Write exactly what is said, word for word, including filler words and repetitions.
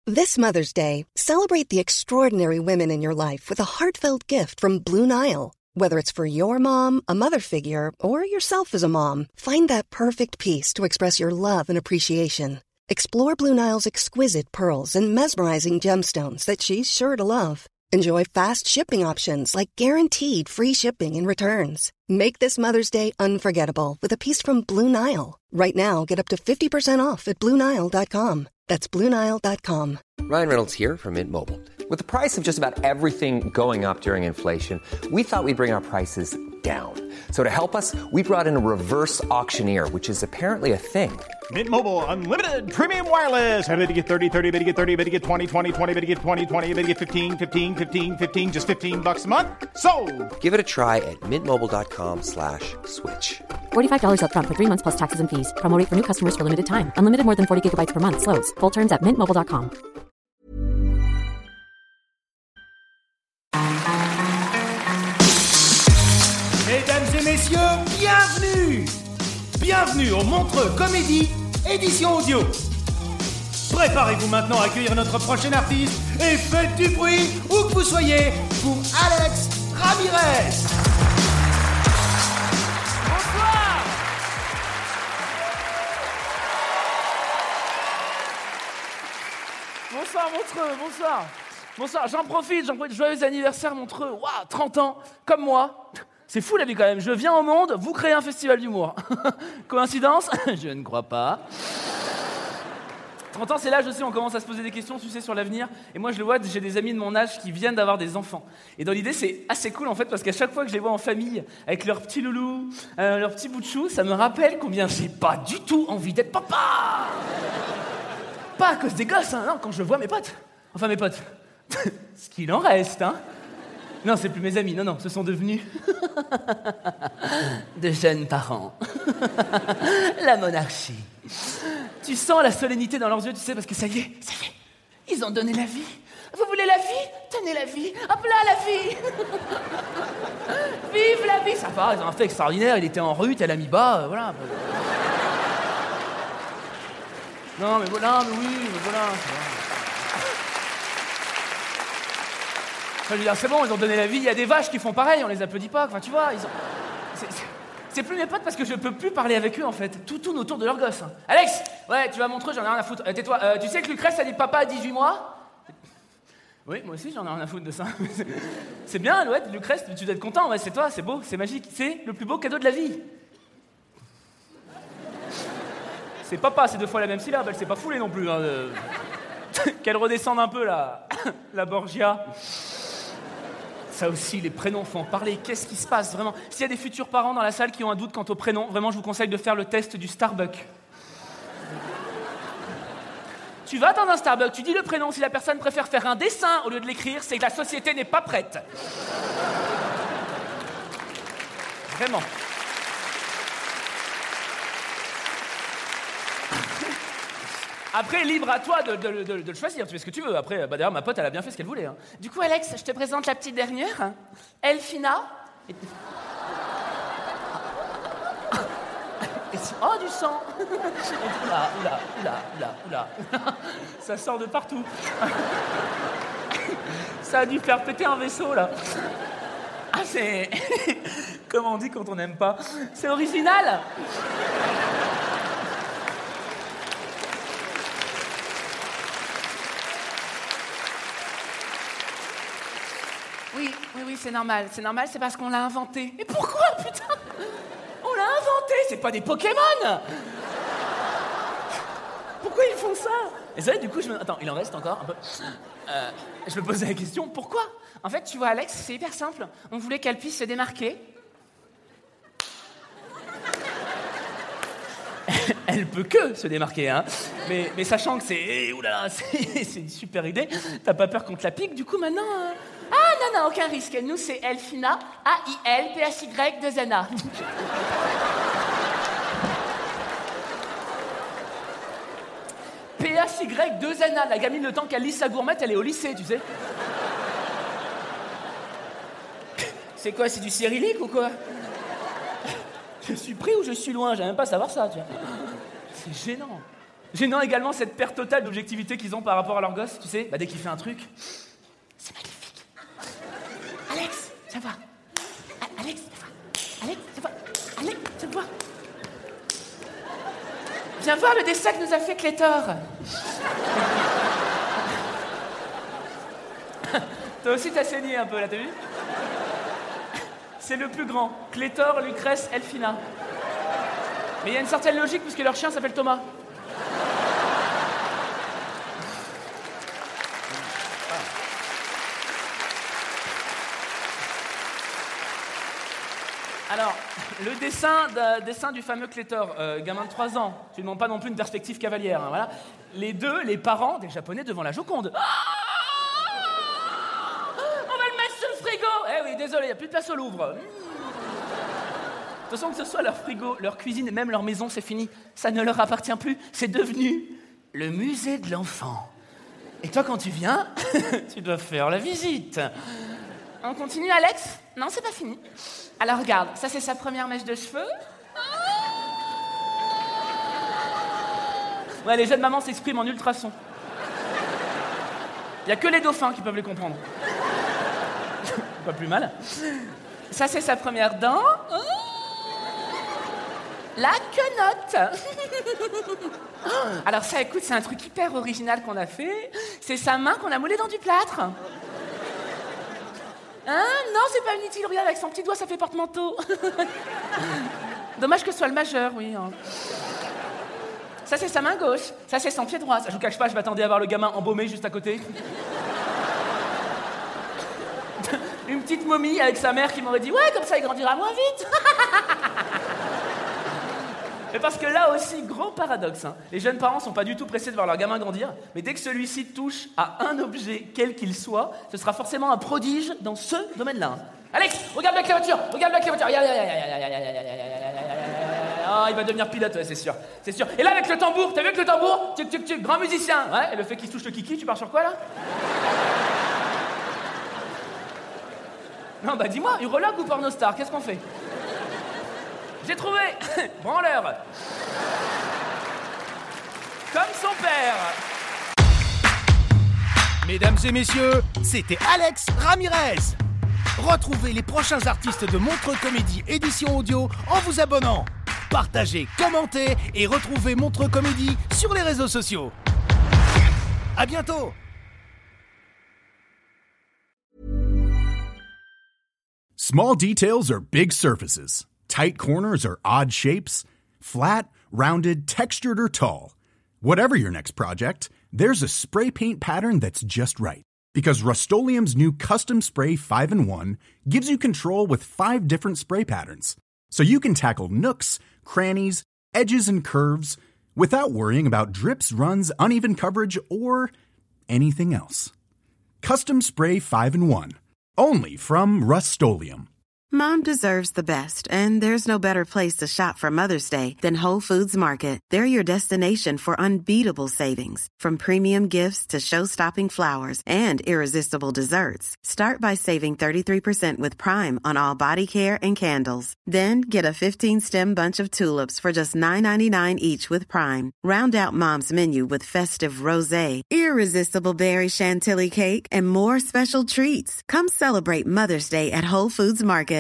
This Mother's Day, celebrate the extraordinary women in your life with a heartfelt gift from Blue Nile. Whether it's for your mom, a mother figure, or yourself as a mom, find that perfect piece to express your love and appreciation. Explore Blue Nile's exquisite pearls and mesmerizing gemstones that she's sure to love. Enjoy fast shipping options like guaranteed free shipping and returns. Make this Mother's Day unforgettable with a piece from Blue Nile. Right now, get up to fifty percent off at Blue Nile dot com. That's Blue Nile dot com. Ryan Reynolds here from Mint Mobile. With the price of just about everything going up during inflation, we thought we'd bring our prices down. So to help us, we brought in a reverse auctioneer, which is apparently a thing. Mint Mobile Unlimited Premium Wireless. How to get thirty, thirty, how to get thirty, how to get twenty, twenty, twenty, how to get twenty, twenty, how to get fifteen, fifteen, fifteen, fifteen, just fifteen bucks a month? Sold! Give it a try at mintmobile.com slash switch. forty-five dollars up front for three months plus taxes and fees. Promo rate for new customers for limited time. Unlimited more than forty gigabytes per month. Slows full terms at mint mobile dot com. Mesdames et messieurs, bienvenue Bienvenue au Montreux Comédie, édition audio. Préparez-vous maintenant à accueillir notre prochain artiste et faites du bruit, où que vous soyez, pour Alex Ramirez. Bonsoir. Bonsoir Montreux, bonsoir. Bonsoir, j'en profite, j'en profite. Joyeux anniversaire Montreux. Waouh, trente ans, comme moi. C'est fou la vie quand même. Je viens au monde, vous créez un festival d'humour. Coïncidence ? Je ne crois pas. trente ans, c'est l'âge aussi où on commence à se poser des questions, tu sais, sur l'avenir. Et moi, je le vois, j'ai des amis de mon âge qui viennent d'avoir des enfants. Et dans l'idée, c'est assez cool en fait, parce qu'à chaque fois que je les vois en famille, avec leur petit loulou, euh, leur petit bout de chou, ça me rappelle combien j'ai pas du tout envie d'être papa. Pas à cause des gosses, hein, non, quand je vois mes potes. Enfin, mes potes. Ce qu'il en reste, hein. Non, c'est plus mes amis, non, non, ce sont devenus de jeunes parents. La monarchie. Tu sens la solennité dans leurs yeux, tu sais, parce que ça y est, ça y est, ils ont donné la vie. Vous voulez la vie ? Tenez la vie. Hop là, la vie. Vive la vie. Ça va, ils ont un fait extraordinaire, il était en rue, tel ami bas, euh, voilà. Non, mais voilà, mais oui, mais voilà. Je veux dire, c'est bon, ils ont donné la vie. Il y a des vaches qui font pareil, on les applaudit pas. Enfin, tu vois, ils ont... c'est, c'est... c'est plus mes potes parce que je peux plus parler avec eux, en fait. Tout tourne autour de leur gosse. Hein. Alex, ouais, tu vas montrer, j'en ai rien à foutre. Euh, tais-toi, euh, tu sais que Lucrèce a dit papa à dix-huit mois ? Oui, moi aussi, j'en ai rien à foutre de ça. C'est bien, ouais, Lucrèce, tu dois être content. Ouais, c'est toi, c'est beau, c'est magique. C'est le plus beau cadeau de la vie. C'est papa, c'est deux fois la même syllabe, elle s'est pas foulée non plus. Hein, de... Qu'elle redescende un peu, la, la Borgia. Ça aussi, les prénoms font parler. Qu'est-ce qui se passe, vraiment ? S'il y a des futurs parents dans la salle qui ont un doute quant au prénom, vraiment, je vous conseille de faire le test du Starbucks. Tu vas dans un Starbucks, tu dis le prénom. Si la personne préfère faire un dessin au lieu de l'écrire, c'est que la société n'est pas prête. Vraiment. Après, libre à toi de, de, de, de le choisir, tu fais ce que tu veux. Après, bah d'ailleurs, ma pote, elle a bien fait ce qu'elle voulait. Hein. Du coup, Alex, je te présente la petite dernière, hein. Elfina. Et... Et... Oh, du sang. Oula, oula, oula, oula, oula. Ça sort de partout. Ça a dû faire péter un vaisseau, là. Ah, c'est... Comment on dit quand on n'aime pas ? C'est original. Oui, oui, oui, c'est normal. C'est normal, c'est parce qu'on l'a inventé. Mais pourquoi, putain ? On l'a inventé, c'est pas des Pokémon. Pourquoi ils font ça ? Et c'est vrai, du coup, je me... Attends, il en reste encore un peu. Euh, je me posais la question, pourquoi ? En fait, tu vois, Alex, c'est hyper simple. On voulait qu'elle puisse se démarquer. Elle peut que se démarquer, hein. Mais, mais sachant que c'est... Oulala, c'est, c'est une super idée. T'as pas peur qu'on te la pique, du coup, maintenant... Euh... Ah, non, non, aucun risque. Nous, c'est Elfina, A I L P H Y deux N A. P H Y deux N A. La gamine, le temps qu'elle lit sa gourmette, elle est au lycée, tu sais. C'est quoi, c'est du cyrillique ou quoi ? Je suis pris ou je suis loin ? J'aime même pas savoir ça, tu vois. C'est gênant. Gênant également cette perte totale d'objectivité qu'ils ont par rapport à leur gosse, tu sais, bah, dès qu'il fait un truc, c'est magnifique. Alex, viens voir. A- Alex, viens voir. Alex, viens voir. Alex, viens voir. Viens voir le dessin que nous a fait Clétor. Toi aussi t'as saigné un peu là, t'as vu? C'est le plus grand. Clétor, Lucrèce, Elphina. Mais il y a une certaine logique puisque leur chien s'appelle Thomas. Alors, le dessin, de, dessin du fameux Clétor, euh, gamin de trois ans, tu ne demandes pas non plus une perspective cavalière, hein, voilà. Les deux, les parents des Japonais devant la Joconde. Ah, on va le mettre sur le frigo. Eh oui, désolé, il n'y a plus de place au Louvre. De toute façon, que ce soit leur frigo, leur cuisine et même leur maison, c'est fini. Ça ne leur appartient plus. C'est devenu le musée de l'enfant. Et toi, quand tu viens, tu dois faire la visite. On continue, Alex? Non, c'est pas fini. Alors regarde, ça c'est sa première mèche de cheveux. Ouais, les jeunes mamans s'expriment en ultrasons. Il y a que les dauphins qui peuvent les comprendre. Pas plus mal. Ça c'est sa première dent. La quenotte. Alors ça, écoute, c'est un truc hyper original qu'on a fait. C'est sa main qu'on a moulée dans du plâtre. Hein? Non, c'est pas inutile, regarde, avec son petit doigt, ça fait porte-manteau. Dommage que ce soit le majeur, oui. Hein. Ça, c'est sa main gauche. Ça, c'est son pied droit. Ça, je vous cache pas, je m'attendais à voir le gamin embaumé juste à côté. Une petite momie avec sa mère qui m'aurait dit « Ouais, comme ça, il grandira moins vite. » Mais parce que là aussi, gros paradoxe, hein. Les jeunes parents sont pas du tout pressés de voir leur gamin grandir, mais dès que celui-ci touche à un objet, quel qu'il soit, ce sera forcément un prodige dans ce domaine-là. Alex, regarde bien que la voiture, regarde bien que la voiture. Ah, il va devenir pilote, ouais, c'est sûr, c'est sûr. Et là, avec le tambour, t'as vu avec le tambour, tuc, tuc, tuc, grand musicien. Ouais, et le fait qu'il touche le kiki, tu pars sur quoi, là? Non, bah dis-moi, urologue ou pornostar, qu'est-ce qu'on fait? J'ai trouvé. Branleur. Comme son père. Mesdames et messieurs, c'était Alex Ramirez. Retrouvez les prochains artistes de Montreux Comédie édition audio en vous abonnant. Partagez, commentez et retrouvez Montreux Comédie sur les réseaux sociaux. À bientôt. Small details are big surfaces. Tight corners or odd shapes. Flat, rounded, textured, or tall. Whatever your next project, there's a spray paint pattern that's just right. Because Rust-Oleum's new Custom Spray five in one gives you control with five different spray patterns. So you can tackle nooks, crannies, edges, and curves without worrying about drips, runs, uneven coverage, or anything else. Custom Spray five in one. Only from Rust-Oleum. Mom deserves the best, and there's no better place to shop for Mother's Day than Whole Foods Market. They're your destination for unbeatable savings, from premium gifts to show-stopping flowers and irresistible desserts. Start by saving thirty-three percent with Prime on all body care and candles. Then get a fifteen-stem bunch of tulips for just nine ninety-nine each with Prime. Round out Mom's menu with festive rosé, irresistible berry chantilly cake, and more special treats. Come celebrate Mother's Day at Whole Foods Market.